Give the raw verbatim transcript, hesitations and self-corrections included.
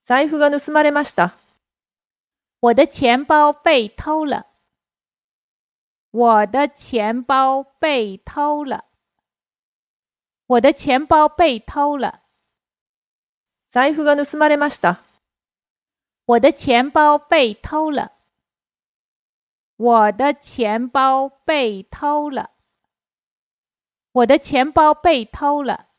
財布が盗まれました。 我的钱包被偷了。我的钱包被偷了。我的钱包被偷了。 財布が盗まれました。 我的钱包被偷了。我的钱包被偷了。我的钱包被偷了。